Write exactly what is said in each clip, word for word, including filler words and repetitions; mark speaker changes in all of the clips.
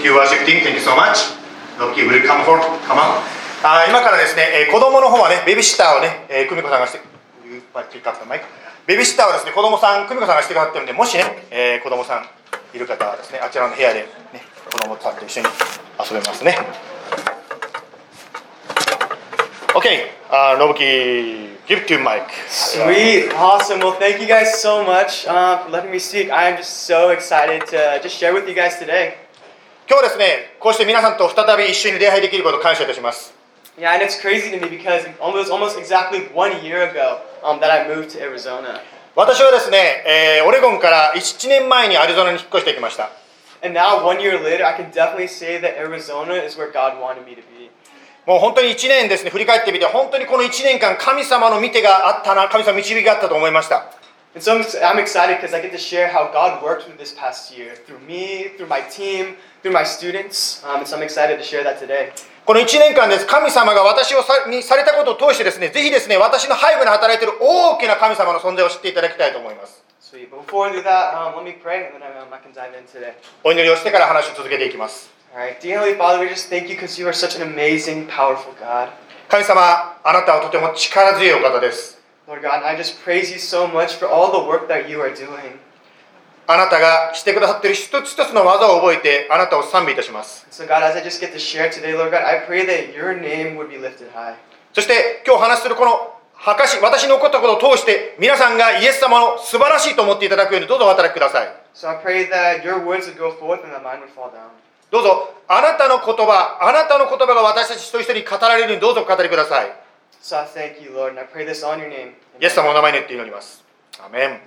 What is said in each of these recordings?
Speaker 1: Thank you, worship team. Thank you so much. Loki, will you come forward? Come on. あ今からですね、えー、子供の方はね、ベビーシッターをね、えー、久美子さんがして、ベビーシッターはですね、子供さん、久美子さんがしてくださってるんで、もしね、えー、子供さんいる方はですね、あちらの部屋で、ね、子供さんと一緒に遊べますね。Okay, uh, Nobuki, give it to Mike.
Speaker 2: Sweet, awesome. Well, thank you guys so much uh, for letting me speak. I am just so excited to just share with you guys today.
Speaker 1: 今日はですね、こうして皆さんと再び一緒に礼拝できることを感謝いたします。
Speaker 2: Yeah, and it's crazy to me because almost almost exactly one year ago um, that I moved to Arizona.
Speaker 1: 私はですね、えー、オレゴンからいちねんまえにアリゾナに引っ越してきました。
Speaker 2: And now, one year later, I can definitely say that Arizona is where God wanted me to be.
Speaker 1: もう本当にいちねんですね、振り返ってみて、本当にこのいちねんかん、神様の見てがあったな、神様の導きがあったと思いました。
Speaker 2: And so I'm excited because I get to share how God worked through this past year, through me, through my team, through my students. Um, and so I'm excited to share that today.
Speaker 1: このいちねんかんです、神様が私をさにされたことを通してですね、ぜひですね、私の背後に働いている大きな神様の存在を知っていただきたいと思います。
Speaker 2: Sweet. But before we do that, um, let me pray and then I, um, I can dive in today.
Speaker 1: お祈りをしてから話を続けていきます。
Speaker 2: Alright, dear Heavenly Father, we just thank you because you are such an amazing, powerful God.
Speaker 1: 神様、あなたはとても力強いお方です。
Speaker 2: Lord God, I just praise you so much for all the work that you are doing.
Speaker 1: あなたがしてくださっている一つ一つの技を覚えて、あなたを賛美いたします。
Speaker 2: So God, as I just get to share today, Lord God, I pray that your name would be lifted high.
Speaker 1: そして今日話するこの証、私の起こったことを通して、皆さんがイエス様の素晴らしいと思っていただくようにどうぞお働きください。
Speaker 2: So I pray that your words would go forth and that mine would fall down.
Speaker 1: どうぞあなたの言葉、あなたの言葉が私たち一人一人に語られるようにどうぞお語りください。
Speaker 2: So I thank you, Lord, and I pray this on your name.
Speaker 1: イエス様のお名前によって祈ります。アメン。
Speaker 2: Amen.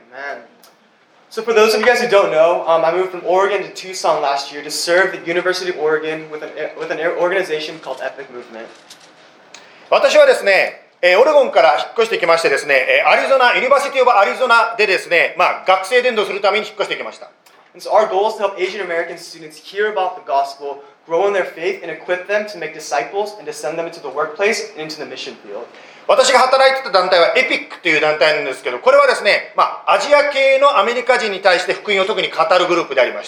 Speaker 2: So for those of you guys who don't know, um, I moved from Oregon to Tucson last year to serve the University of Oregon with an, with an organization called Epic Movement.
Speaker 1: 私はですね、えー、オレゴンから引っ越してきましてですね、えー、アリゾナ、ユニバーシティオブアリゾナでですね、まあ、学生伝道するために引っ越してきました。
Speaker 2: And so our goal is to help Asian American students hear about the gospel, grow in their faith, and equip them to make disciples and to send them into the workplace and into the mission field.
Speaker 1: 私が働いてた団体はエピックという団体なんですけど、これはですね、まあ、アジア系のアメリカ人に対して福音を特に語るグループでありました。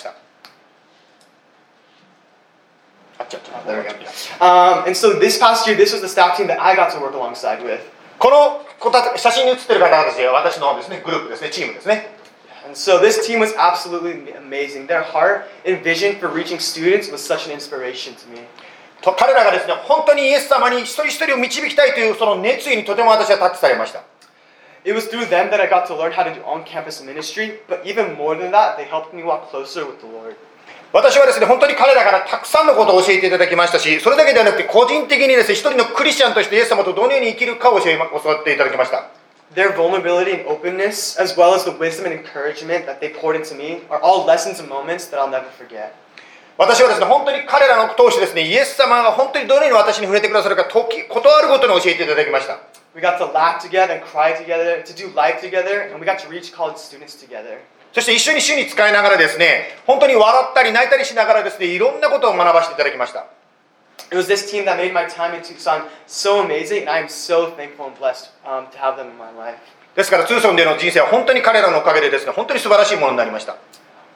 Speaker 2: There we go. Um, and so this past year, this was the staff team that I got to work alongside with.
Speaker 1: この子たち、写真に写ってる方たちは私のですね、グループですね、チームですね。
Speaker 2: And so this team was absolutely amazing. Their heart and vision for reaching students was such an inspiration to me.
Speaker 1: 彼らがですね、本当にイエス様に一人一人を導きたいというその熱意にとても私はタッチされました。
Speaker 2: It was through them that I got to learn how to do on-campus ministry, but even more than that, they helped me walk closer with the Lord.
Speaker 1: 私はですね、本当に彼らからたくさんのことを教えていただきましたし、それだけではなくて個人的にですね、一人のクリスチャンとしてイエス様とどのように生きるかを教え教わっていただきました。
Speaker 2: Their vulnerability and openness, as well as the wisdom and encouragement that they poured into me, are all lessons and moments that I'll never forget.
Speaker 1: 私はですね、本当に彼らの通してですね、イエス様が本当にどのように私に触れてくださるか、時、ことあるごとに教えていただきました。
Speaker 2: We got to laugh together and cry together, to do life together, and we got to reach college students together. そして一緒に主に使いながらですね、本当に笑ったり泣いたりしながらですね、いろんなことを学ばせていただきました。 It was this team that made my time in Tucson so amazing, and I am so thankful and blessed um, to have them in my life.
Speaker 1: ですから、ツーソンでの人生は本当に彼らのおかげでですね、本当に素晴らしいものになりました。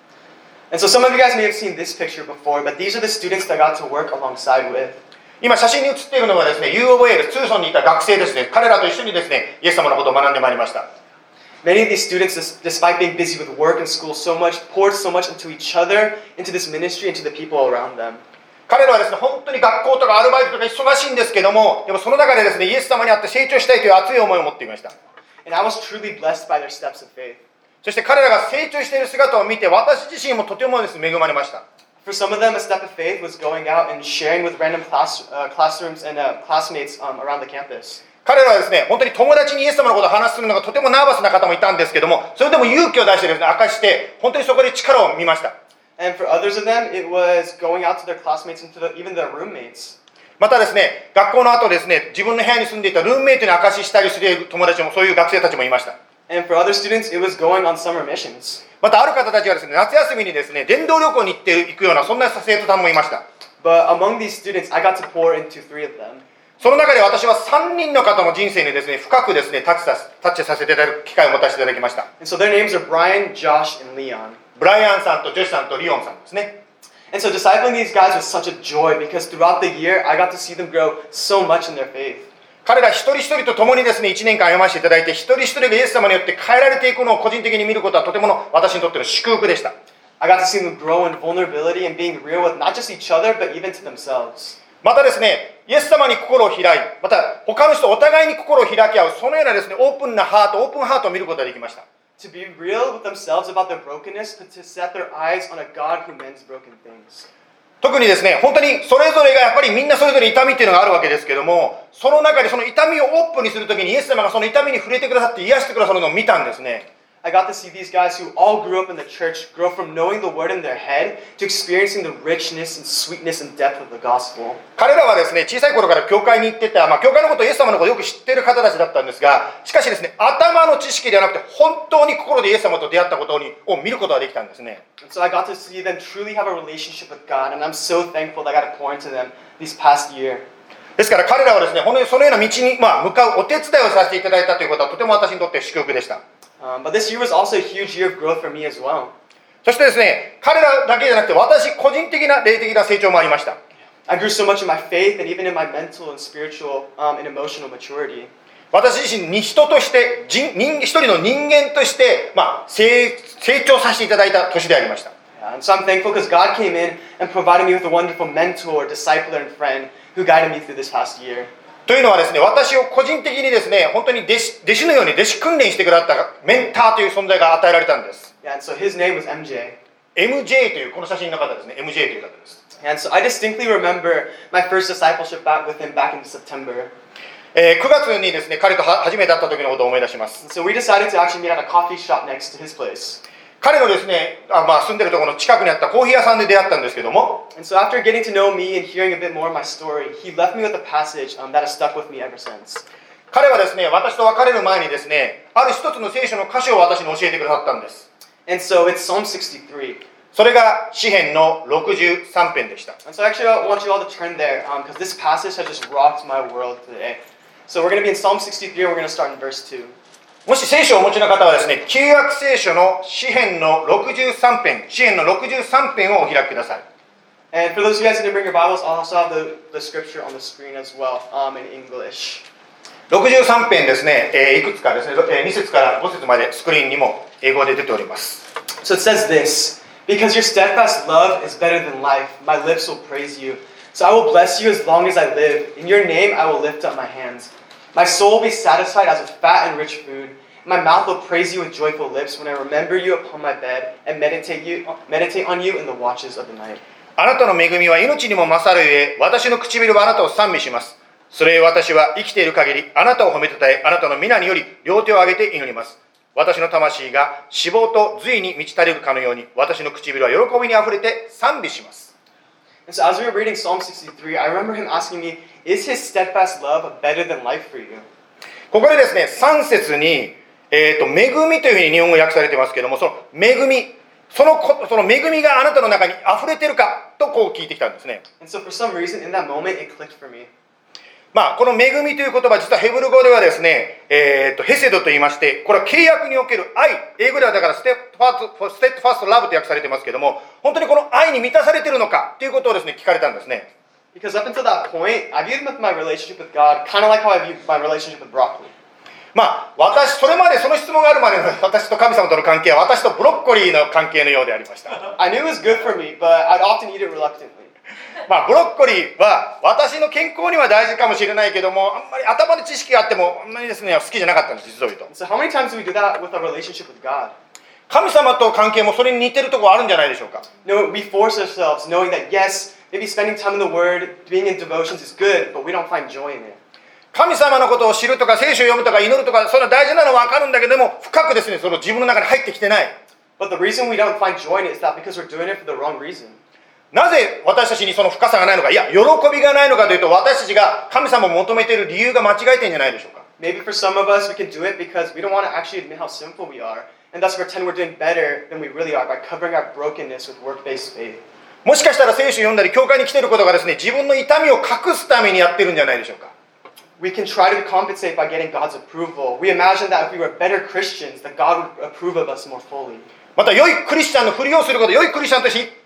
Speaker 2: And so some of you guys may have seen this picture before, but these are the students that I got to work alongside with.
Speaker 1: 今写真に写っているのがですね、ユーオーエー です。ツーソンにいた学生ですね。彼らと一緒にですね、イエス様のことを学んでまいりました。
Speaker 2: Many of these students, despite being busy with work and school so much, poured so much into each other, into this ministry, into the people around them.
Speaker 1: 彼らはですね、本当に学校とかアルバイトとか忙しいんですけども、でもその中でですね、イエス様に会って成長したいという熱い思いを持っていました。
Speaker 2: And I was truly blessed by their steps of faith.
Speaker 1: そして彼らが成長している姿を見て、私自身もとてもですね、恵まれました。
Speaker 2: For some of them, a step of faith was going out and sharing with random class, uh, classrooms and uh, classmates um, around the campus.
Speaker 1: 彼らはですね、本当に友達にイエス様のことを話するのがとてもナーバスな方もいたんですけども、それでも勇気を出してですね、明かして、本当にそこで力を見ました。
Speaker 2: And for others of them, it was going out to their classmates and to the, even their roommates.
Speaker 1: またですね、学校の後ですね、自分の部屋に住んでいたルームメイトに証ししたりする友達も、そういう学生たちもいました。
Speaker 2: And for other students, it was going on summer missions.
Speaker 1: またある方たちはですね、夏休みにですね、伝道旅行に行っていくような、そんな生徒さんもいました。
Speaker 2: But among these students, I got to pour into three of them.
Speaker 1: その中で私はさんにんの方の人生にですね、深くですね、タッチさ、タッチさせていただく機会を持たせていただきました。
Speaker 2: And so their names are Brian, Josh, and Leon.
Speaker 1: ブライアンさんとジョシさんとリオンさんですね。
Speaker 3: And so discipling these guys was such a joy because throughout the year, I got to see them grow so much in their faith.
Speaker 1: 彼ら一人一人と共にですね、いちねんかん歩ませていただいて、一人一人がイエス様によって変えられていくのを個人的に見ることはとてもの私にとっての祝福でした。
Speaker 3: I got to see them grow in vulnerability and being real with not just each other, but even to themselves.
Speaker 1: またですね、イエス様に心を開い、また他の人お互いに心を開き合う、そのようなですね、オープンなハート、オープンハートを見ることができました。
Speaker 3: To be real with themselves about their brokenness, but to set their eyes on a God who mends broken things.
Speaker 1: 特にですね、本当にそれぞれがやっぱりみんなそれぞれ痛みっていうのがあるわけですけども、その中でその痛みをオープンにするときにイエス様がその痛みに触れてくださって癒してくださるのを見たんですね。
Speaker 3: I got to see these guys who all grew up in the church grow from knowing the word in their head to experiencing the richness and sweetness and depth of the gospel.
Speaker 1: 彼らはですね、小さい頃から教会に行ってた、まあ、教会のことをイエス様のことをよく知っている方たちだったんですが、しかしですね、頭の知識ではなくて本当に心でイエス様と出会ったことにを見ることができたんですね。
Speaker 3: And so I got to see them truly have a relationship with God, and I'm so thankful that I got to pour into them this past year.
Speaker 1: ですから彼らはですね、本当にそのような道に、まあ、向かうお手伝いをさせていただいたということはとても私にとって祝福でした。
Speaker 3: Um, but this year was also a huge year of growth for me as well.
Speaker 1: そしてですね、彼らだけじゃなくて私個人的な霊的な成長もありました。
Speaker 3: I grew so much in my faith and even in my mental and spiritual um, and emotional maturity.
Speaker 1: 私自身に人として人人一人の人間として、まあ、成, 成長させていただいた年でありました。
Speaker 3: Yeah, and so I'm thankful because God came in and provided me with a wonderful mentor, discipler, and friend who guided me through this past year.
Speaker 1: というのはですね、私を個人的にですね、本当に弟子、弟子のように弟子訓練してくださったメンターという存在が与えられたんです。
Speaker 3: Yeah, and so his name was M J.
Speaker 1: エムジェー というこの写真の方ですね、エムジェー という方です。
Speaker 3: And so I distinctly remember my first discipleship back with him back in September.
Speaker 1: えー、くがつにですね、彼と初めて会った時のことを思い出します。
Speaker 3: And so we decided to actually meet at a coffee shop next to his place.
Speaker 1: 彼のですね、あまあ、住んでるところの近くにあったコーヒー屋さんで出会ったんですけども、
Speaker 3: And so after getting to know me and hearing a bit more of my story, he left me with a passage um, that has stuck with me ever since.
Speaker 1: 彼はですね、私と別れる前にですね、ある一つの聖書の箇所を私に教えてくださったんです。
Speaker 3: And so it's Psalm sixty-three.
Speaker 1: それが詩編のろくじゅうさん編でした。
Speaker 3: And so actually I want you all to turn there because um, this passage has just rocked my world today. So we're going to be in Psalm sixty-three and we're going to start in verse two.
Speaker 1: もし聖書をお持ちの方はですね、旧約聖書の詩編のろくじゅうさん編、詩編のろくじゅうさん編をお開きください。
Speaker 3: And for those of you guys who didn't bring your Bibles, I'll also have the, the scripture on the screen as well um, in English.
Speaker 1: ろくじゅうさん編ですね、えー、いくつかですね、えー、に節からご節までスクリーンにも英語で出ております。
Speaker 3: So it says this, because your steadfast love is better than life, my lips will praise you. So I will bless you as long as I live. In your name I will lift up my hands. My soul will be satisfied as with fat and rich food. My mouth will praise you with joyful lips when I remember you upon my bed and meditate, you, meditate on you in the watches of the night.
Speaker 1: あなたの恵みは命にも勝るゆえ、私の唇はあなたを賛美します。それゆえ私は生きている限り、あなたを褒めたたえ、あなたの皆により両手を挙げて祈ります。私の魂が脂肪と髄に満ち足りるかのように、私の唇は喜びにあふれて賛美します。
Speaker 3: And so as we were reading Psalm sixty-three, I remember him asking me, is his steadfast love better than life for you?
Speaker 1: ここでですね、さん節に、えーと、恵みというふうに日本語訳されていますけれども、その恵み、そのこその恵みがあなたの中に溢れているかとこう聞いてきたんですね。
Speaker 3: And so for some reason in that moment it clicked for me.
Speaker 1: まあ、この恵みという言葉、実はヘブル語ではですね、えーと、ヘセドと言いまして、これは契約における愛、英語ではだからステッドファースト、ステッドファーストラブと訳されていますけれども、本当にこの愛に満たされているのかということをですね、聞かれたんですね。
Speaker 3: Because up until that point, I viewed my relationship with God kind of like how I viewed my relationship with broccoli.
Speaker 1: まあ、私、それまでその質問があるまでの私と神様との関係は私とブロッコリーの関係のようでありました。
Speaker 3: I knew it was good for me, but I'd often eat it reluctantly.
Speaker 1: まあ、ブロッコリーは私の健康には大事かもしれないけども、あんまり頭で知識があってもあんまりですね、好きじゃなかったんです、実を言うと。
Speaker 3: So how many times do we do that with our relationship with God?
Speaker 1: 神様と関係もそれに似てるところあるんじゃないでしょうか。
Speaker 3: No, we force ourselves knowing that yes, maybe spending time in the Word, being in devotions is good, but we don't find joy in it.
Speaker 1: 神様のことを知るとか聖書を読むとか祈るとかそれは大事なのは分かるんだけども深くですねその自分の中に入ってきてない。
Speaker 3: But the reason we don't find joy in it is that because we're doing it for the wrong reason.
Speaker 1: なぜ私たちにその深さがないのか、いや喜びがないのかというと私たちが神様を求めている理由が間違えてるんじゃないでしょうか。
Speaker 3: Maybe for some of us we can do it because we don't want to actually admit how sinful we are and thus pretend we're doing better than we really are by covering our brokenness with work-based faith.
Speaker 1: もしかしたら聖書を読んだり教会に来ていることがですね自分の痛みを隠すためにやってるんじゃないでしょうか。
Speaker 3: We can try to compensate by getting God's approval. We imagine that if we were better Christians, that God would approve of us more fully.
Speaker 1: また良いクリスチャンのふりをすること、良いクリスチャンとして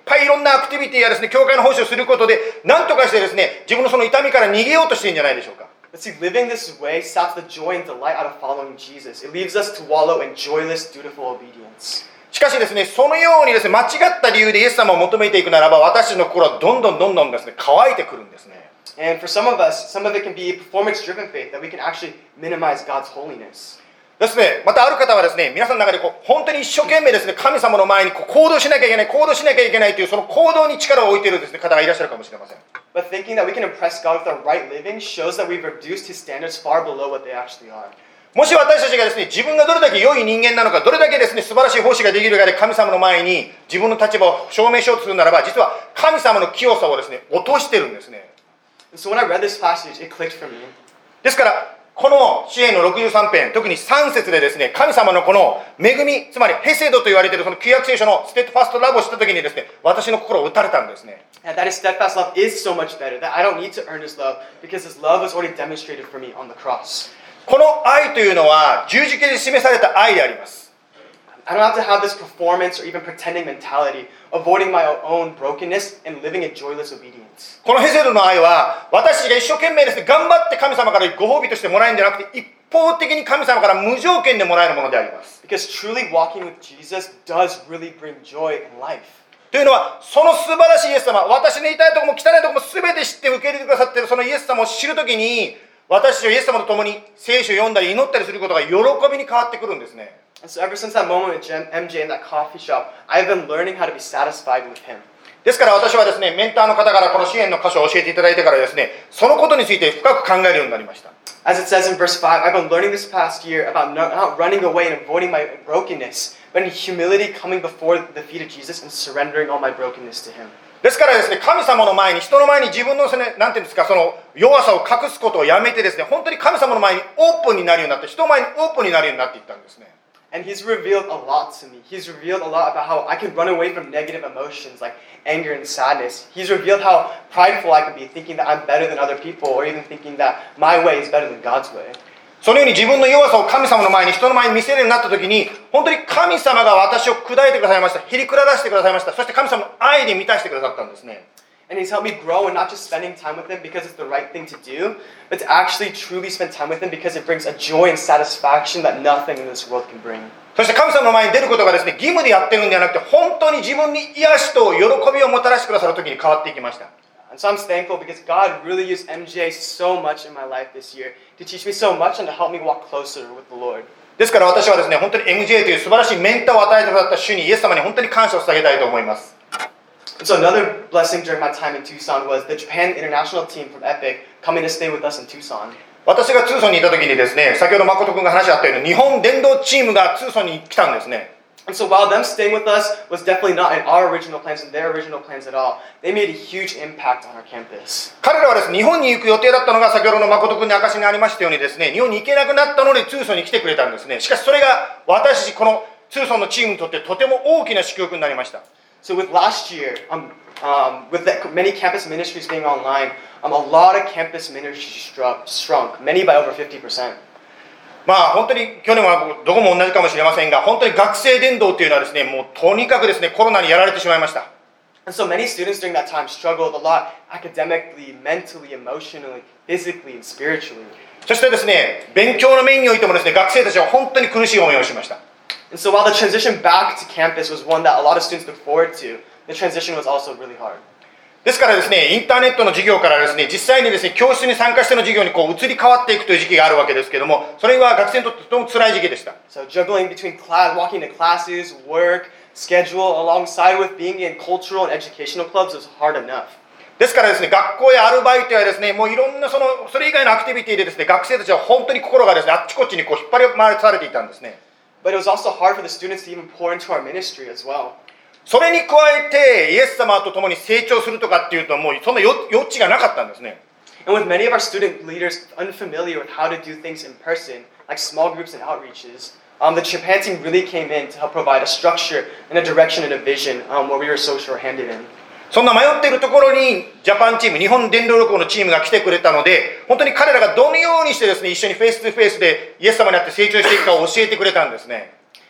Speaker 1: ぱいいろんなアクティビティやですね、教会の奉仕をすることで、なんとかしてですね、自分のその痛みから逃げようとしているんじゃないでしょうか。
Speaker 3: But see, living this way saps the joy and delight out of following Jesus. It leaves us to wallow in joyless, dutiful obedience.
Speaker 1: しかしですね、そのようにですね、間違った理由でイエス様を求めていくならば、私たちの心はどんどんどんどんですね、乾いてくるんですね。
Speaker 3: And for some of us, some of it can be performance-driven faith, that we can actually minimize God's holiness.
Speaker 1: ですね、またある方はですね、皆さんの中でこう本当に一生懸命ですね、神様の前にこう行動しなきゃいけない、行動しなきゃいけないというその行動に力を置いているですね、方がいらっしゃるかもしれません。
Speaker 3: But thinking that we can impress God with our right living shows that we've reduced His standards far below what they actually are.
Speaker 1: もし私たちがですね、自分がどれだけ良い人間なのか、どれだけですね、素晴らしい奉仕ができるかで神様の前に自分の立場を証明しようとするならば、実は神様の清さをですね、落としてるんですね。
Speaker 3: So when I read this passage, it clicked for me.
Speaker 1: ですからこの詩篇のろくじゅうさん編、特にさん節でですね、神様のこの恵み、つまりヘセドと言われているその旧約聖書のステッドファストラブをしたときにですね、私の心を打たれたんですね。
Speaker 3: And that His steadfast love is so much better, that I don't need to earn His love, because His love was already demonstrated for me on the cross.
Speaker 1: この愛というのは十字架で示された愛であります。
Speaker 3: I don't have to have this performance or even pretending mentality, avoiding my own brokenness and living in joyless obedience.
Speaker 1: このヘセドの愛は、私たちが一生懸命ですね、頑張って神様からご褒美としてもらえるんじゃなくて、一方的に神様から無条件でもらえるものであります。
Speaker 3: Because truly walking with Jesus does really bring joy in life.
Speaker 1: というのは、その素晴らしいイエス様、私の痛いところも汚いところも全て知って受け入れてくださっているそのイエス様を知るときに、私たちはイエス様と共に聖書を読んだり祈ったりすることが喜びに変わってくるんですね。
Speaker 3: And so ever since that moment with M J in that coffee shop, I've been learning how to be satisfied with Him.
Speaker 1: ですから私はですね、メンターの方からこの支援の箇所を教えていただいてからですね、そのことについて深く考えるようになりました。
Speaker 3: As it says in verse five, I've been learning this past year about not, not running away and avoiding my brokenness, but in humility coming before the feet of Jesus and surrendering all my brokenness to Him.
Speaker 1: ですからですね、神様の前に、人の前に自分のですね、なんていうんですか、その弱さを隠すことをやめてですね、本当に神様の前にオープンになるようになって、人の前にオープンになるようになっていったんですね。
Speaker 3: And He's revealed a lot to me. He's revealed a lot about how I can run away from negative emotions like anger and sadness. He's revealed how prideful I can be, thinking that I'm better than other people, or even thinking that my way is better than God's way.
Speaker 1: そのように自分の弱さを神様の前に、人の前に見せるようになったときに、本当に神様が私を砕いてくださいました。へりくららしてくださいました。そして神様の愛で満たしてくださったんですね。
Speaker 3: And He's helped me grow in not just spending time with Him because it's the right thing to do, but to actually truly spend time with Him because it brings a joy and satisfaction that nothing in this world can bring.
Speaker 1: そして神様の前に出ることがですね、義務でやってるんではなくて、本当に自分に癒しと喜びをもたらしてくださるときに変わっていきました。
Speaker 3: And so I'm thankful because God really used M J so much in my life this year to teach me so much and to help me walk closer with the Lord.
Speaker 1: ですから私はですね、本当に エムジェー という素晴らしいメンターを与えてくださった主にイエス様に本当に感謝を捧げたいと思います。
Speaker 3: And so another blessing during my time in Tucson was the Japan international team from Epic coming to stay with us in Tucson.
Speaker 1: 私がツーソンにいた時にですね、先ほど誠君が話し合ったように日本伝道チームがツーソンに来たんですね。
Speaker 3: And so while them staying with us was definitely not in our original plans and their original plans at all, they made a huge impact on our campus.
Speaker 1: 彼らはですね、日本に行く予定だったのが先ほどの誠君に証しがありましたようにですね、日本に行けなくなったのでツーソンに来てくれたんですね。しかしそれが私たちこのツーソンのチームにとってとても大きな祝福になりました。
Speaker 3: So with last year, um, um, with the, many campus ministries being online, um, a lot of campus ministries struck, shrunk, many by over fifty percent.
Speaker 1: まあ本当に去年はどこも同じかもしれませんが、本当に学生伝道というのはですね、もうとにかくですね、コロナにやられてしまいました。
Speaker 3: And so many students during that time struggled a lot academically, mentally, emotionally, physically, and spiritually.
Speaker 1: そしてですね、勉強の面においてもですね、学生たちは本当に苦しい思いをしました。
Speaker 3: And so while the transition back to campus was one that a lot of students looked forward to, the transition was also really hard.
Speaker 1: ですからですね、インターネットの授業からですね、実際にですね、教室に参加しての授業にこう移り変わっていくという時期があるわけですけれども、それは学生にとってとても辛い時期でした。
Speaker 3: So juggling between class, walking to classes, work, schedule, alongside with being in cultural and educational clubs was hard enough.
Speaker 1: ですからですね、学校やアルバイトやですね、もういろんなそのそれ以外のアクティビティでですね、学生たちは本当に心がですね、あっちこっちにこう引っ張り回されていたんですね。
Speaker 3: But it was also hard for the students to even pour into our ministry as well.
Speaker 1: それに加えてイエス様と共に成長するとかっていうともうそんな余地がなかったんですね。
Speaker 3: And with many of our student leaders unfamiliar with how to do things in person, like small groups and outreaches, um, the Japan team really came in to help provide a structure and a direction and a vision um, where we were so short-handed in.
Speaker 1: そんな迷っているところにジャパンチーム、日本伝道旅行のチームが来てくれたので、本当に彼らがどのようにしてですね、一緒にフェイストゥフェイスでイエス様に会って成長していくかを教えてくれたんですね。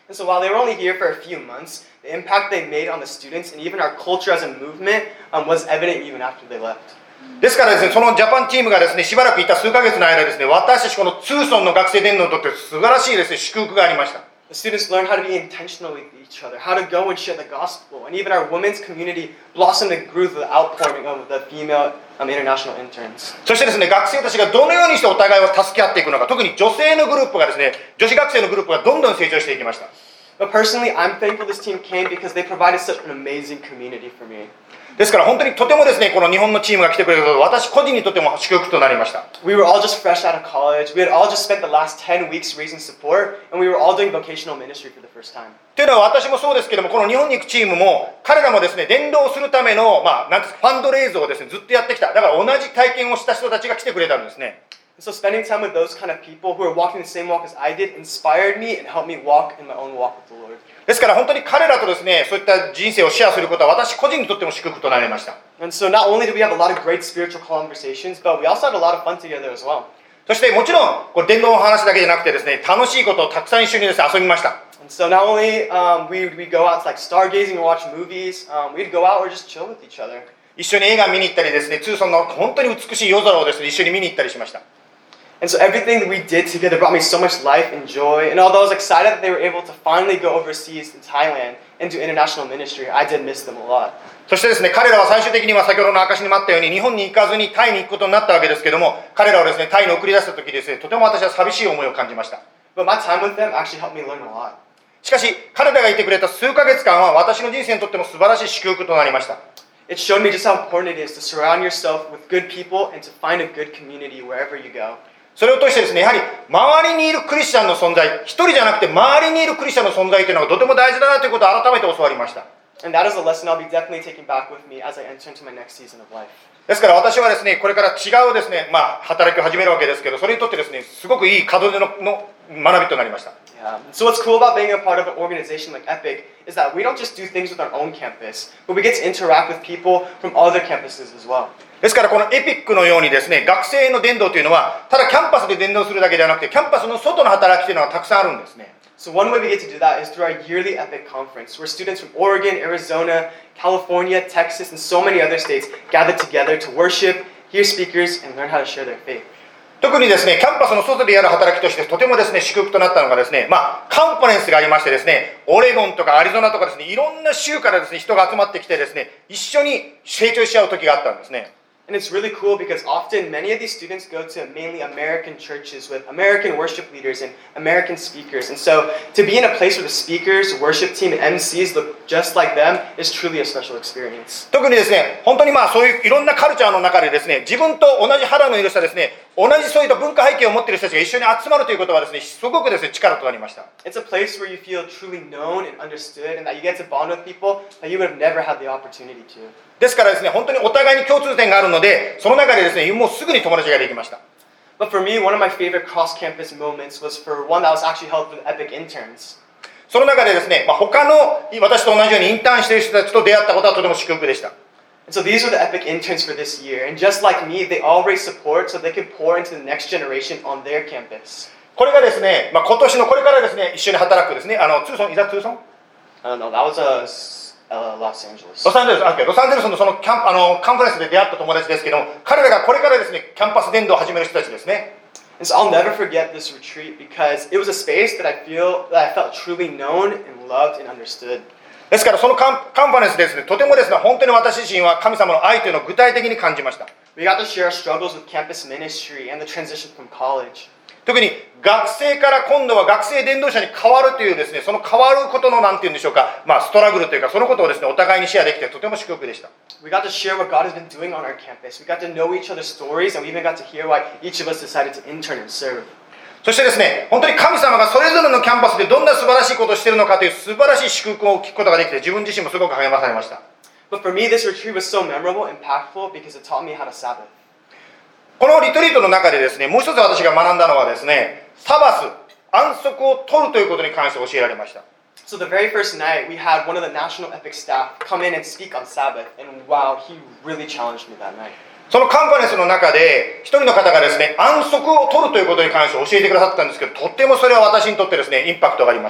Speaker 3: And so while they were only here for a few months, the impact they made on the students and even our culture as a movement um, was evident even after they left.
Speaker 1: ですからですね、そのジャパンチームがですね、しばらくいた数ヶ月の間ですね、私たちこのツーソンの学生伝道にとって素晴らしいですね、祝福がありました。
Speaker 3: The students learned how to be intentional with each other, how to go and share the gospel, and even our women's community blossomed and grew through the outpouring of the female um, international interns.
Speaker 1: そしてですね、学生たちがどのようにしてお互いを助け合っていくのか、特に女性のグループがですね、女子学生のグループがどんどん成長していきました。
Speaker 3: But personally, I'm thankful this team came because they provided such an amazing community for me.
Speaker 1: ですから本当にとてもですね、この日本のチームが来てくれること、私個人にとっても祝福となりました。
Speaker 3: We were all just fresh out of college. We had all just spent the last ten weeks raising support, and we were all doing vocational ministry for the first time.
Speaker 1: というのは私もそうですけども、この日本に行くチームも彼らもですね、伝道するための、まあ、なんですか、ファンドレイズをですね、ずっとやってきた。だから同じ体験をした人たちが来てくれたんですね。
Speaker 3: So spending time with those kind of people who are walking the same walk as I did inspired me and helped me walk in my own walk with the Lord.
Speaker 1: ですから本当に彼らとですね、そういった人生をシェアすることは私個人にとっても祝福となりました。
Speaker 3: And so not only did we have a lot of great spiritual conversations, but we also had a lot of fun together as well.
Speaker 1: そしてもちろん、これ伝道の話だけじゃなくてですね、楽しいことをたくさん一緒にですね、遊びました。
Speaker 3: And so not only um, we we go out to like stargazing or watch movies, um, we'd go out or just chill with each other.
Speaker 1: 一緒に映画見に行ったりですね、ツーソンの本当に美しい夜空をですね、一緒に見に行ったりしました。
Speaker 3: And so everything that we did together brought me so much life and joy. And although I was excited that they were able to finally go overseas in Thailand and do international ministry, I did miss them a lot.
Speaker 1: そしてですね、彼らは最終的には先ほどの証にもあったように日本に行かずにタイに行くことになったわけですけども、彼らをですね、タイに送り出した時ですね、とても私は寂しい思いを感じました。
Speaker 3: But my time with them actually helped me learn a lot.
Speaker 1: しかし、彼らがいてくれた数ヶ月間は私の人生にとっても素晴らしい祝福となりました。
Speaker 3: It showed me just how important it is to surround yourself with good people and to find a good community wherever you go.
Speaker 1: それを通してですね、やはり周りにいるクリスチャンの存在、一人じゃなくて周りにいるクリスチャンの存在というのがとても大事だなということを改めて教わりました。
Speaker 3: And that is a lesson I'll be definitely taking back with me as I enter into my next season of life.
Speaker 1: ですから私はですね、これから違うですね、まあ働きを始めるわけですけど、それにとってですね、すごくいい門出のの学びとなりました。
Speaker 3: Yeah. So what's cool about being a part of an organization like Epic is that we don't just do things with our own campus, but we get to interact with people from other campuses as well.
Speaker 1: ですからこのエピックのようにですね、学生の伝道というのはただキャンパスで伝道するだけではなくて、キャンパスの外の働きというのはたくさんあるんですね。
Speaker 3: So one way we get to do that is through our yearly Epic conference, where students from Oregon, Arizona, California, Texas, and so many other states gather together to worship, hear speakers, and learn how to share their faith.
Speaker 1: 特にですね、キャンパスの外でやる働きとしてとてもですね、祝福となったのがですね、まあカンファレンスがありましてですね、オレゴンとかアリゾナとかですね、いろんな州からですね、人が集まってきてですね、一緒に成長し合う時があったんですね。
Speaker 3: And it's really cool because often many of these students go to mainly American churches with American worship leaders and American speakers. And so to be in a place where the speakers, worship team, and M Cs look just like them is truly a special experience.
Speaker 1: 特にですね、本当にまあそういういろんなカルチャーの中でですね、自分と同じ肌の色したですね、同じそういった文化背景を持っている人たちが一緒に集まるということはですね、すごくですね、力となりました。
Speaker 3: It's a place where you feel truly known and understood and that you get to bond with people that you would have never had the opportunity to.
Speaker 1: ですからですね、本当にお互いに共通点があるので、その中でですね、もうすぐに友達ができました。
Speaker 3: But for me, one of my favorite cross-campus moments was for one that was actually held for the Epic interns.
Speaker 1: その中でですね、まあ、他の私と同じようにインターンしている人たちと出会ったことはとても祝福でした。
Speaker 3: And so these were the Epic interns for this year. And just like me, they all raised support so they could pour into the next generation on their campus.
Speaker 1: これがですね、まあ、今年のこれからですね、一緒に働くですね、あの、ツーソン、いざツーソン
Speaker 3: Uh, no, that was a Uh, Los Angeles.
Speaker 1: ロサンゼルス、あ、ロサンゼルスのそのキャンあのカンファレンスで出会った友達ですけども、彼らがこれからですね、キャンパス伝道を始める人たちですね。
Speaker 3: And so I'll never forget this retreat because it was a space that I feel that I felt truly known and loved and understood.
Speaker 1: ですからそのカンカンファレンスですね、とてもですね、本当に私自身は神様の愛というのを具体的に感じました。
Speaker 3: We got to share our struggles with campus ministry and the transition from college.
Speaker 1: 特に学生から今度は学生伝道者に変わるというですね、その変わることのなんていうんでしょうか、まあストラグルというかそのことをですね、お互いにシェアできてとても祝福でした。
Speaker 3: We got to share what God has been doing on our campus. We got to know each other's stories and we even got to hear why each of us decided to intern and serve.
Speaker 1: そしてですね、本当に神様がそれぞれのキャンパスでどんな素晴らしいことをしているのかという素晴らしい祝福を聞くことができて、自分自身もすごく励まされました。
Speaker 3: But for me, this retreat was so memorable and impactful because it taught me how to Sabbath.
Speaker 1: このリトリートの中でですね、もう一つ私が学んだのはですね、サバス、安息を取るということに関して教えられました。
Speaker 3: So the very first night, we had one of the National Epic staff come in and speak on Sabbath, and wow, he really challenged me that night.
Speaker 1: そのカンファレンスの中で、一人の方がですね、安息を取るということに関して教えてくださったんですけど、とってもそれは私にとってですね、インパクトがありました。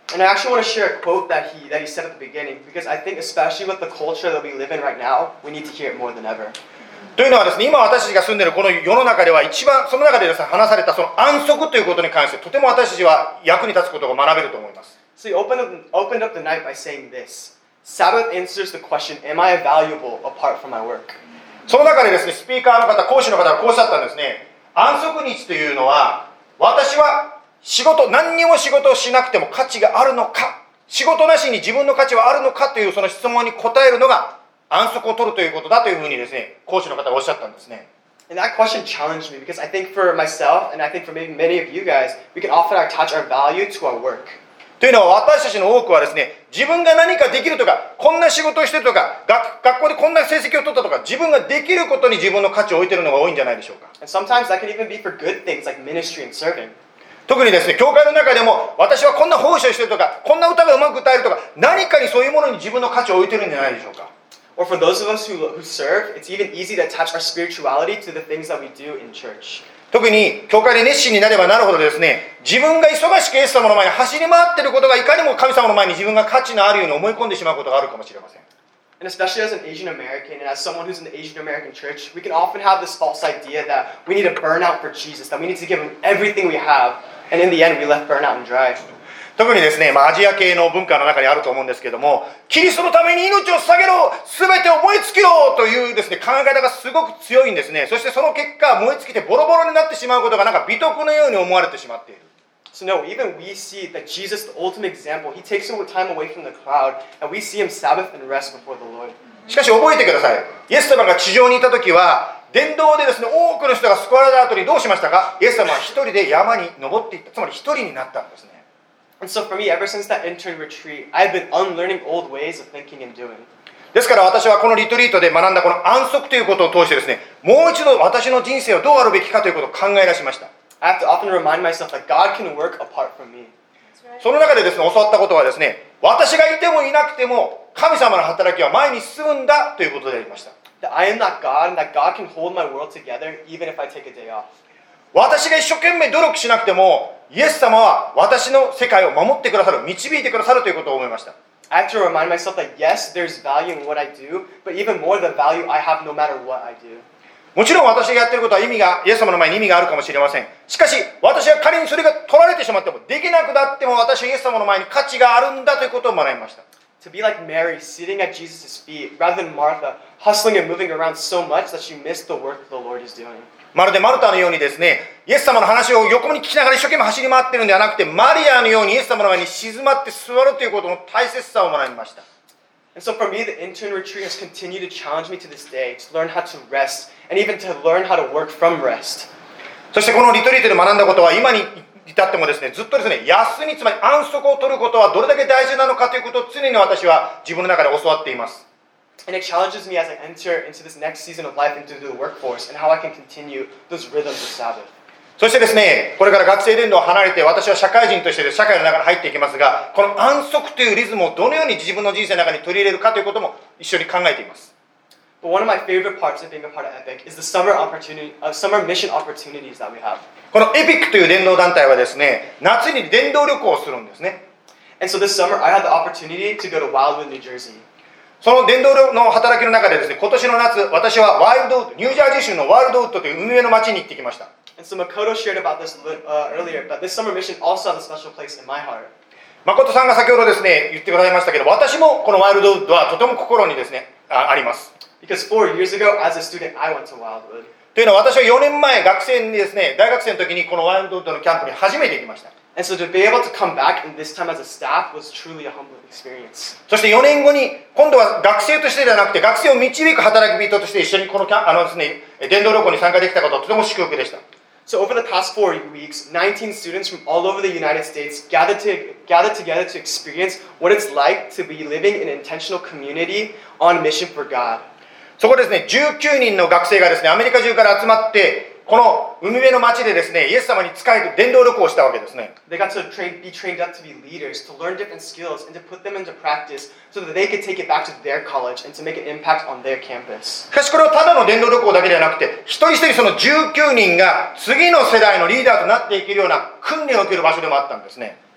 Speaker 3: And I actually want to share a quote that he that he said at the beginning, because I think especially with the culture that we live in right now, we need to hear it more than ever.
Speaker 1: というのはですね、今私たちが住んでいるこの世の中では一番その中でですね、話されたその安息ということに関してとても私たちは役に立つことが学べると思います。
Speaker 3: So he opened up, opened up the night by saying this. Sabbath answers the question, am I valuable apart from my work?
Speaker 1: その中でですね、スピーカーの方、講師の方がこうおっしゃったんですね。安息日というのは、私は仕事、何にも仕事をしなくても価値があるのか、仕事なしに自分の価値はあるのかというその質問に答えるのが安息を取るということだというふうにですね、講師の方がおっしゃったんですね。
Speaker 3: And that question challenged me because I think for myself and I think for maybe many of you guys, we can often attach our value to our work.
Speaker 1: というのは私たちの多くはですね、自分が何かできるとか、こんな仕事をしてるとか、学, 学校でこんな成績を取ったとか、自分ができることに自分の価値を置いているのが多いんじゃないでしょうか。
Speaker 3: And sometimes that can even be for good things like ministry and serving.
Speaker 1: 特にですね、教会の中でも私はこんな奉仕をしてるとか、こんな歌がうまく歌えるとか、何かにそういうものに自分の価値を置いてるんじゃないでしょうか。
Speaker 3: Or for those of us who, who serve, it's even easy to attach our spirituality to the things that we do in church.
Speaker 1: 特に教会で熱心になればなるほどですね、自分が忙しくイエス様の前に走り回っていることがいかにも神様の前に自分が価値のあるように思い込んでしまうことがあるかもしれません。
Speaker 3: And especially as an Asian American and as someone who's in the Asian American church, we can often have this false idea that we need to burn out for Jesus, that we need to give him everything we have, and in the end we left burn out and dry.
Speaker 1: 特にですね、まあ、アジア系の文化の中にあると思うんですけども、キリストのために命を捧げろ、すべてを燃え尽きろというですね、考え方がすごく強いんですね。そしてその結果、燃え尽きてボロボロになってしまうことがなんか美徳のように思われてしまっている。
Speaker 3: So no, even we see that Jesus, the ultimate example, he takes some time away from the crowd, and we see him Sabbath and rest before the Lord.
Speaker 1: しかし覚えてください。イエス様が地上にいた時は、伝道でですね、多くの人が救われた後にどうしましたか？イエス様は一人で山に登っていった。つまり一人になったんですね。
Speaker 3: And so for me, ever since that intern retreat, I've been unlearning old ways of thinking and doing.
Speaker 1: ですから私はこのリトリートで学んだこの安息ということを通してですね、もう一度私の人生はどうあるべきかということを考え出しました。
Speaker 3: I have to often remind myself that God can work apart from me.
Speaker 1: その中でですね、教わったことはですね、私がいてもいなくても神様の働きは前に進むんだということでありました。
Speaker 3: That I am not God and that God can hold my world together even if I take a day off.
Speaker 1: 私が一生懸命努力しなくてもイエス様は私の世界を守ってくださる、導いてくださるということを思いました。
Speaker 3: I have to remind myself that yes, there's value in what I do, but even more the value I have no matter what I do.
Speaker 1: もちろん私がやっていることは意味が、イエス様の前に意味があるかもしれません。しかし私は仮にそれが取られてしまっても、できなくなっても私はイエス様の前に価値があるんだということを学びました。
Speaker 3: To be like Mary, sitting at Jesus' feet, rather than Martha, hustling and moving around so much that she missed the work the Lord is doing.
Speaker 1: まるでマルタのようにですね、イエス様の話を横に聞きながら一生懸命走り回っているのではなくて、マリアのようにイエス様の前に静まって座るということの大切さを学びました。
Speaker 3: And so for me, the intern retreat has continued to challenge me to this day to learn how to rest and even to learn how to work from rest.
Speaker 1: そしてこのリトリートで学んだことは今に至ってもですね、ずっとですね、休み、つまり安息を取ることはどれだけ大事なのかということを常に私は自分の中で教わっています。
Speaker 3: And it challenges me as I enter into this next season of life into the workforce and how I can continue those rhythms of Sabbath.
Speaker 1: そしてですね、これから学生伝道を離れて私は社会人として社会の中に入っていきますが、この安息というリズムをどのように自分の人生の中に取り入れるかということも一緒に考えています。
Speaker 3: But one of my favorite parts of being a part of Epic is the summer opportunity, uh, summer mission opportunities that we have.
Speaker 1: このエピックという伝道団体はですね、夏に伝道旅行をするんですね。
Speaker 3: And so this summer I had the opportunity to go to Wildwood, New Jersey.
Speaker 1: その伝道の働きの中でですね、今年の夏、私はワイルドウッド、ニュージャージー州のワイルドウッドという海辺の町に行ってきました。
Speaker 3: And so Makoto shared about this uh, earlier, but this summer mission also has a special place in my heart.
Speaker 1: 誠さんが先ほどですね、言ってくださいましたけど、私もこのワイルドウッドはとても心にですね、あ、あります。
Speaker 3: Because four years ago, as a student, I went to Wildwood.
Speaker 1: というのは私はよねんまえ学生にですね、大学生の時にこのワイルドウッドのキャンプに初めて行きました。
Speaker 3: And so to be able to come back and this time as a staff was truly a humbling experience.
Speaker 1: そしてよねんごに今度は学生としてではなくて学生を導く働き人として一緒にこのキャンあのですね、伝道旅行に参加できたことはとても祝福でした。
Speaker 3: So over the past four weeks, nineteen students from all over the United States gathered to gathered together to experience what it's like to be living in an intentional community on mission for God.
Speaker 1: そこですね、じゅうきゅうにんの学生がですね、アメリカ中から集まってこの海辺の町でですね、イエス様に仕える伝道旅行をしたわけですね。
Speaker 3: They got to train, be trained up to be leaders, to learn different skills, and to put them into practice so that they could take it back to their college and to make an impact on their campus.
Speaker 1: しかしこれはただの伝道旅行だけではなくて、一人一人そのじゅうきゅうにんが次の世代のリーダーとなっていけるような訓練を受ける場所でもあったんですね。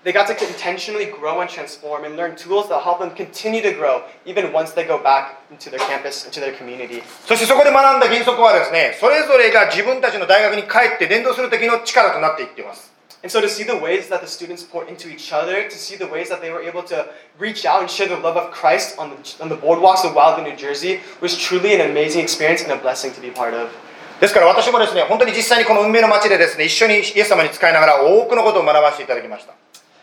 Speaker 3: They got to intentionally grow and transform and learn tools that help them continue to grow even once they go back into their campus, into their community.
Speaker 1: そしてそこで学んだ原則はですね、それぞれが自分たちの大学に帰って伝道する時の力となっていっています。
Speaker 3: And so to see the ways that the students poured into each other, to see the ways that they were able to reach out and share the love of Christ on the, on the boardwalks of Wildwood, New Jersey, was truly an amazing experience and a blessing to be part of.
Speaker 1: ですから私もですね、本当に実際にこの運命の街でですね、一緒にイエス様に仕えながら多くのことを学ばせていただきました。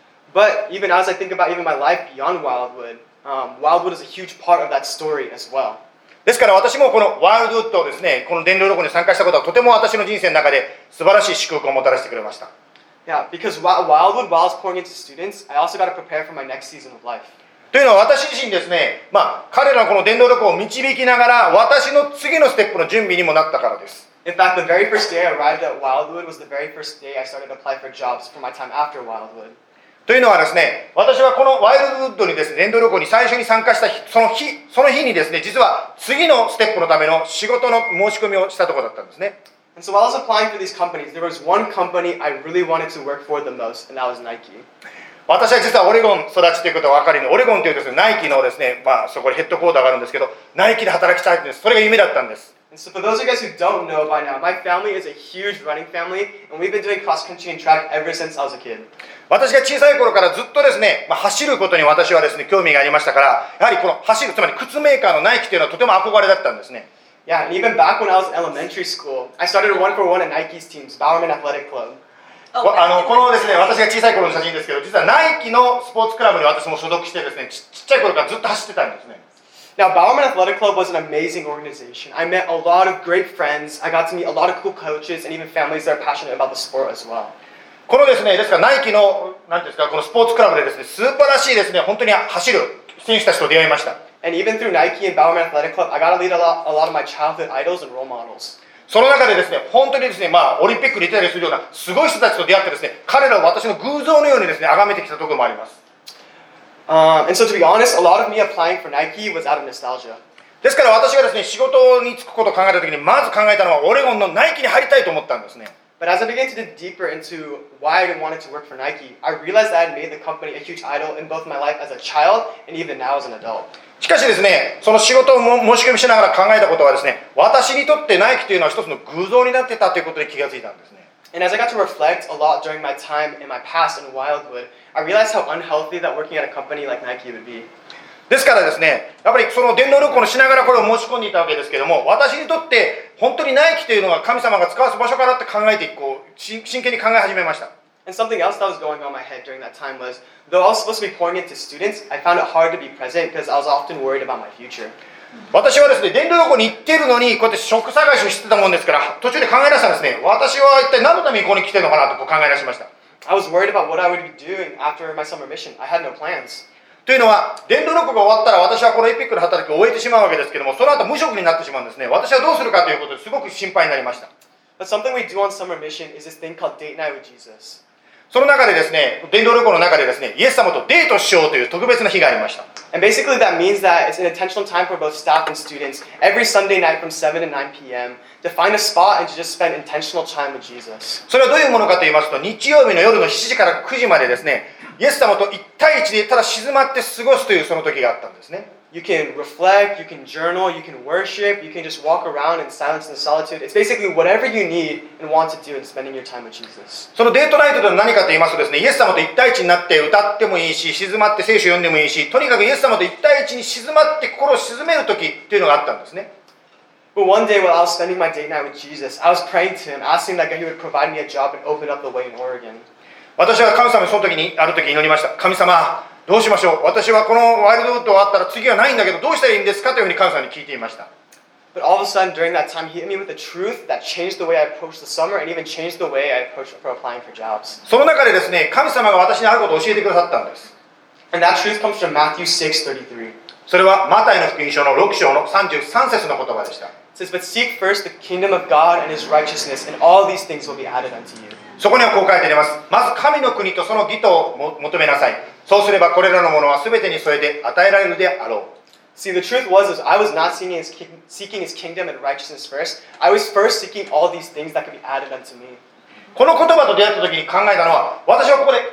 Speaker 3: But even as I think about even my life beyond Wildwood, um, Wildwood is a huge part of that story as well.
Speaker 1: ですから私もこのワイルドウッドをですね、この伝道旅行に参加したことはとても私の人生の中で素晴らしい祝福をもたらしてくれました。
Speaker 3: Yeah, because Wildwood, while I was pouring into students, I also got to prepare for my next season of life.
Speaker 1: というのは私自身ですね、まあ彼らのこの伝道旅行を導きながら私の次のステップの準備にもなったからです。
Speaker 3: In fact, the very first day I arrived at Wildwood was the very first day I started to apply for jobs for my time after Wildwood.
Speaker 1: というのはですね、私はこのワイルドウッドにですね、伝道旅行に最初に参加した日、その日、その日にですね、実は次のステップのための仕事の申し込みをしたところだったんですね。
Speaker 3: And so while I was applying for these companies, there was one company I really wanted to work for the most, and that was Nike.
Speaker 1: 私は実はオレゴン育ちということが分かりの、オレゴンというですね、ナイキのですね、まあそこにヘッドクォーターがあるんですけど、ナイキで働きたいんです。それが夢だったんです。
Speaker 3: And so for those of you guys who don't know by now, my family is a huge running family, and we've been doing cross country and track ever since I was a kid.
Speaker 1: 私が小さい頃からずっとですね、まあ、走ることに私はですね、興味がありましたから、やはりこの走る、つまり靴メーカーのナイキというのはとても憧れだったんですね。
Speaker 3: Yeah, and even back when I was in elementary school, I started a one for one at Nike's teams, Bowerman Athletic Club.
Speaker 1: あのこのですね、私が小さい頃の写真ですけど、実はナイキのスポーツクラブに私も所属してですね、ち, ちっちゃい頃からずっと走ってたんですね。
Speaker 3: Now, Bowerman Athletic Club was an amazing organization. I met a lot of great friends. I got to meet a lot of cool coaches and even families that are passionate about the sport as well.
Speaker 1: このですね、ですからナイキのなんていうんですか、このスポーツクラブでですね、素晴らしいですね、本当に走る選手たちと出会いました。
Speaker 3: And even through Nike and Bowerman Athletic Club, I got to lead a lot, a lot of my childhood idols and role models.
Speaker 1: その中でですね、本当にですね、まあオリンピックに出たりするようなすごい人たちと出会ってですね、彼らを私の偶像のようにですね、崇めてきたところもあります。
Speaker 3: Um, and so to be honest, a lot of me applying for Nike was out of nostalgia.
Speaker 1: ですから私がですね、仕事に就くことを考えたときにまず考えたのはオレゴンのナイキに入りたいと思ったんですね。
Speaker 3: But as I began to dig deeper into why I wanted to work for Nike, I realized that I had made the company a huge idol in both my life as a child and even now as an adult.
Speaker 1: しかしですね、その仕事を申し込みしながら考えたことはですね、私にとってナイキというのは一つの偶像になってたということに気がついたんですね。
Speaker 3: And as I got to reflect a lot during my time in my past in Wildwood, I realized how unhealthy that working at a company like Nike would be.
Speaker 1: ですからですね、やっぱりその伝道旅行をしながらこれを申し込んでいたわけですけども、私にとって本当にナイキというのは神様が使わす場所かなって考えてこう真剣に考え始めました。
Speaker 3: And something else that was going on in my head during that time was, though I was supposed to be pouring into students, I found it hard to be present because I was often worried about my future.
Speaker 1: 私はですね、伝道旅行に行っているのにこうやって職探しをしてたもんですから、途中で考え出したんですね。私は一体何のためにここに来てるのかなとこう考え出しました。
Speaker 3: I was worried about what I would be doing after my summer mission. I had no plans.
Speaker 1: というのは、伝道旅行が終わったら私はこのエピックの働きを終えてしまうわけですけども、その後無職になってしまうんですね。私はどうするかということですごく心配になりました。
Speaker 3: But something we do on summer mission is this thing called date night with Jesus.
Speaker 1: その中でですね、伝道旅行の中でですね、イエス様とデートしようという特別な日がありました。
Speaker 3: And basically that means that it's an intentional time for both staff and students every Sunday night from seven to nine p.m. to find a spot and to just spend intentional time with Jesus.
Speaker 1: それはどういうものかと言いますと、日曜日の夜のしちじからくじまでですね、イエス様といち対いちでただ静まって過ごすというその時があったんですね。
Speaker 3: You can reflect, you can journal, you can worship, you can just walk around in silence and solitude. It's basically whatever you need and want to do in spending your time with Jesus.
Speaker 1: そのデートナイトとは何かと言いますとですね、イエス様といち対いちになって歌ってもいいし、静まって聖書を読んでもいいし、とにかくイエス様といち対いちに静まって心を静める時というのがあったんですね。
Speaker 3: But one day while I was spending my date night with Jesus, I was praying to him, asking that he would provide me a job and open up the way in Oregon.
Speaker 1: 私は神様にその時にある時祈りました。神様、どうしましょう。私はこのワイルドウッド終わったら次はないんだけどどうしたらいいんですかというふうに神様に聞いていました。
Speaker 3: But all of a sudden during that time, he hit me with a truth that changed the way I approached the summer and even changed the way I approached for applying for jobs.
Speaker 1: その中でですね、神様が私にあることを教えてくださったんです。
Speaker 3: And that truth comes from Matthew six thirty-three.
Speaker 1: それはマタイの福音書のろく章のさんじゅうさん節の言葉でした。
Speaker 3: It says, "But seek first the kingdom of God and His righteousness, and all these things will be added unto you."
Speaker 1: そこにはこう書いてあります。まず神の国とその義とを求めなさい。そうすればこれらのものは全てに添えて与えられるであろう。
Speaker 3: See, the truth was, is I was not seeking his, seeking his kingdom and righteousness first. I was first seeking all these things that could be added unto me.
Speaker 1: この言葉と出会った時に考えたのは、私はここで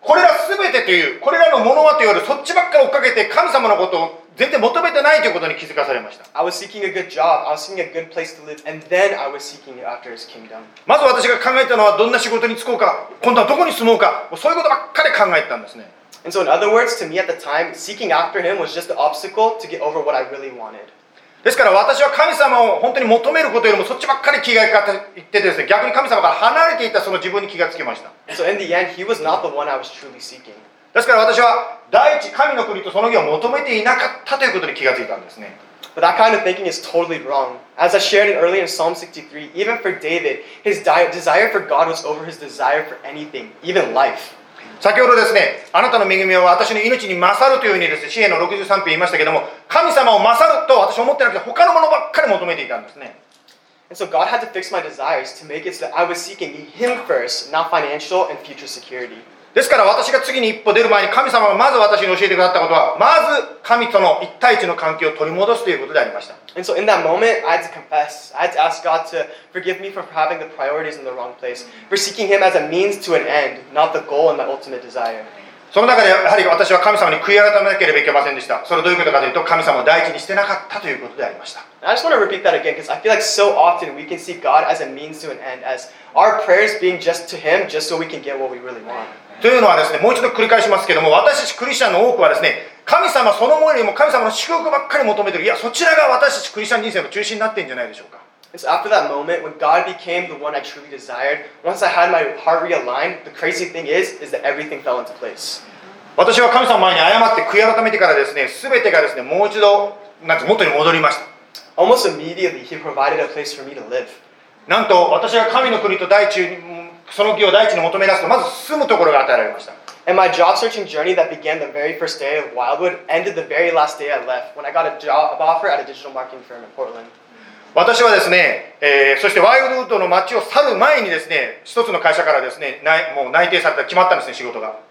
Speaker 1: これら全てという、これらのものはというより、そっちばっかり追っかけて神様のことを全然求めてないということに気づかされました。
Speaker 3: I was seeking a good job, I was seeking a good place to live, and then I was seeking after His kingdom.
Speaker 1: まず私が考えたのは、どんな仕事に就こうか、今度はどこに住もうか、そういうことばっかり考えてたんですね。
Speaker 3: And so in other words, to me at the time, seeking after Him was just the obstacle to get over what I really wanted.
Speaker 1: ですから私は神様を本当に求めることよりもそっちばっかり気がいってですね、逆に神様から離れていたその自分に気がつきました。
Speaker 3: And so in the end, He was not the one I was truly seeking.
Speaker 1: ですから私は第一神の国とその義を求めていなかったということに気がついたんですね。
Speaker 3: But that kind of thinking is totally wrong. As I shared it earlier in Psalm sixty-three, even for David, his di- desire for God was over his desire for anything, even life.
Speaker 1: 先ほどですね、あなたの恵みは私の命に勝るというふうにですね、詩篇のろくじゅうさん編言いましたけども、神様を勝ると私は思ってなくて他のものばっかり求めていたんですね。
Speaker 3: And so God had to fix my desires to make it so that I was seeking Him first, not financial and future security.
Speaker 1: ですから私が次に一歩出る前に神様がまず私に教えてくださったことは、まず神との一対一の関係を取り戻すということでありました。
Speaker 3: And so in that moment, I had to confess. I had to ask God to forgive me for having the priorities in the wrong place, for seeking Him as a means to an end, not the goal and my ultimate desire.
Speaker 1: その中でやはり私は神様に悔い改めなければいけませんでした。それはどういうことかというと、神様を第一にしてなかったということでありました。
Speaker 3: And I just want to repeat that again because I feel like so often we can see God as a means to an end, as our prayers being just to Him, just so we can get what we really want.
Speaker 1: というのはですね、もう一度繰り返しますけども、私たちクリスチャンの多くはですね、神様そのものよりも神様の祝福ばっかり求めてる。いや、そちらが私たちクリスチャン人生の中心になっているんじゃないでしょうか。
Speaker 3: And so after that moment, when God became the one I truly desired, once I had my heart realigned, the crazy thing is, is that everything fell into place.
Speaker 1: 私は神様の前に謝って悔い改めてからですね、すべてがですね、もう一度なんて元に戻りました。
Speaker 3: Almost immediately, He provided a place for me to live.
Speaker 1: なんと私が神の国と第一にその義を第一に求め出すと、まず住むところが与えられました。
Speaker 3: And my job searching journey that began the very first day of Wildwood ended the very last day I left when I got a job offer at a digital marketing firm in Portland.
Speaker 1: 私はですね、えー、そしてワイルドウッドの街を去る前にですね、一つの会社からですね、もう内定された、決まったんですね、仕事が。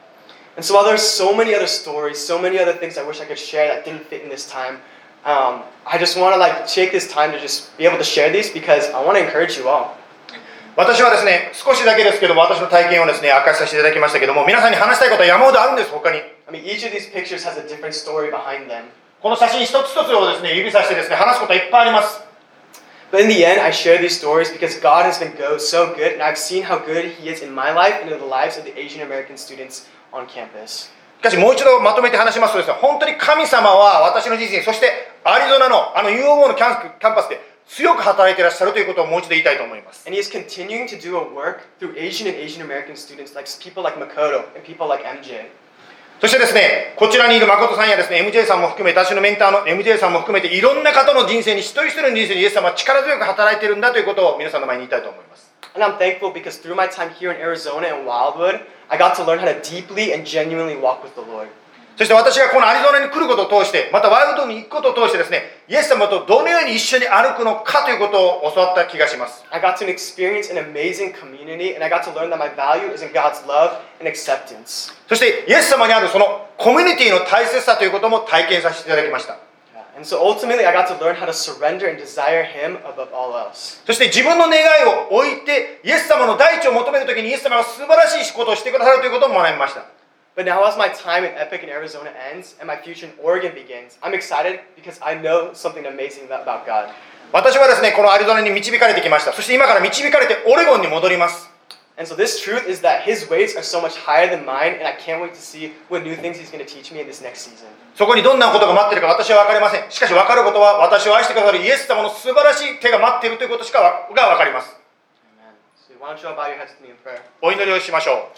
Speaker 3: And so while there's so many other stories, so many other things I wish I could share that didn't fit in this time, um, I just want to like take this time to just be able to share these because I want to encourage you all.
Speaker 1: 私はですね、少しだけですけども、私の体験をですね、明かしさせていただきましたけども、皆さんに話したいことは山ほどあるんです、他に。
Speaker 3: I mean, each of these pictures has a different story behind them.
Speaker 1: この写真一つ一つをですね、指さしてですね、話すことはいっぱいあります。
Speaker 3: But in the end, I share these stories because God has been go so good, and I've seen how good He is in my life and in the lives of the Asian American students on campus.
Speaker 1: しかしもう一度まとめて話しますとですね、本当に神様は私の人生、そしてアリゾナのあの ユーオー のキャンキャンパスで強く働いていらっしゃるということをもう一度言いたいと思います。
Speaker 3: And He is continuing to do a work through Asian and Asian American students, like people like Makoto and people like M J.
Speaker 1: そしてですね、こちらにいる誠さんやですね、エムジェー さんも含め、私のメンターの エムジェー さんも含めて、いろんな方の人生に、一人一人の人生にイエス様は力強く働いているんだということを皆さんの前に言いたいと思います。
Speaker 3: And I'm thankful because through my time here in Arizona and Wildwood, I got to learn how to deeply and genuinely walk with the Lord.
Speaker 1: そして私がこのアリゾナに来ることを通して、またワイルドに行くことを通してですね、イエス様とどのように一緒に歩くのかということを教わった気がします。
Speaker 3: I got to experience an amazing community, and I got to learn that my value is in God's love and acceptance.
Speaker 1: そしてイエス様にあるそのコミュニティの大切さということも体験させていただきました。
Speaker 3: And so ultimately, I got to learn how to surrender and desire Him above all else.
Speaker 1: そして自分の願いを置いて、イエス様の第一を求めるときにイエス様が素晴らしいことをしてくださるということも学びました。
Speaker 3: But now as my time in Epic in Arizona ends and my future in Oregon begins, I'm excited because I know something amazing about God.
Speaker 1: 私はですね、このアリゾナに導かれてきました。そして今から導かれてオレゴンに戻ります。
Speaker 3: And so this truth is that His ways are so much higher than mine, and I can't wait to see what new things He's going to teach me in this next season.
Speaker 1: そこにどんなことが待っているか私は分かりません。しかし分かることは、私を愛してくださるイエス様の素晴らしい手が待っているということしかが分かります。
Speaker 3: Amen. So why don't you all bow your heads with me in prayer?
Speaker 1: お祈りをしましょう。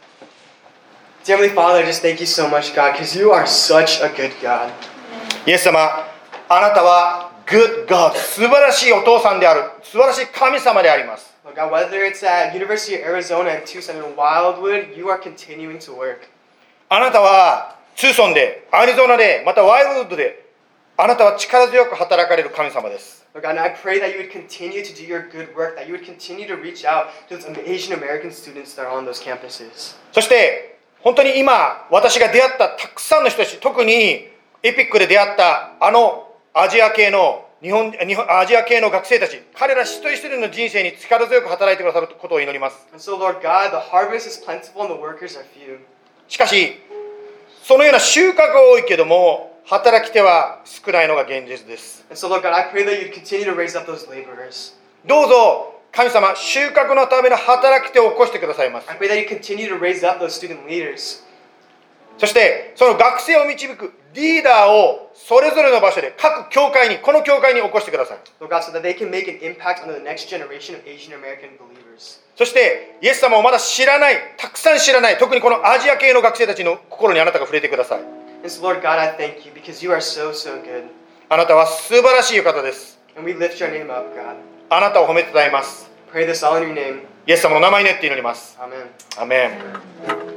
Speaker 3: Dear Heavenly Father, I just thank you so much, God, because you are such a good God.
Speaker 1: イエス様、あなたは Good God、素晴らしいお父さんである、素晴らしい神様であります。
Speaker 3: Lord God, whether it's at University of Arizona and Tucson and Wildwood, you are continuing to work.
Speaker 1: あなたはツーソンで、アリゾナで、またワイルドウッドで、あなたは力強く働かれる神様です。
Speaker 3: Lord God, and I pray that you would continue to do your good work, that you would continue to reach out to those Asian American students that are on those campuses.
Speaker 1: そして本当に今私が出会ったたくさんの人たち、特にエピックで出会ったあのアジア系の日本、日本アジア系の学生たち、彼ら一人一人の人生に力強く働いてくださることを祈ります。
Speaker 3: And so, Lord God, the harvest is plentiful and the workers are few.
Speaker 1: しかし、そのような収穫が多いけども、働き手は少ないのが現実です。
Speaker 3: And so, Lord God, I pray that you'd continue to raise up those laborers.
Speaker 1: どうぞ神様、収穫のための働き手を起こしてくださいます。
Speaker 3: I pray that you continue to raise up those student leaders.
Speaker 1: そしてその学生を導くリーダーをそれぞれの場所で各教会に、この教会に起こしてください。
Speaker 3: Lord God, so that they can make an impact on the next generation of Asian American believers.
Speaker 1: そしてイエス様をまだ知らない、たくさん知らない、特にこのアジア系の学生たちの心にあなたが触れてください。
Speaker 3: And so, Lord God, I thank you because you are so, so good.
Speaker 1: あなたは素晴らしいお方です。
Speaker 3: And we lift your name up, God.
Speaker 1: あなたを褒めてたたえます。
Speaker 3: Pray this all in your name.
Speaker 1: イエス様の名前によって祈ります。
Speaker 3: Amen.
Speaker 1: アメン。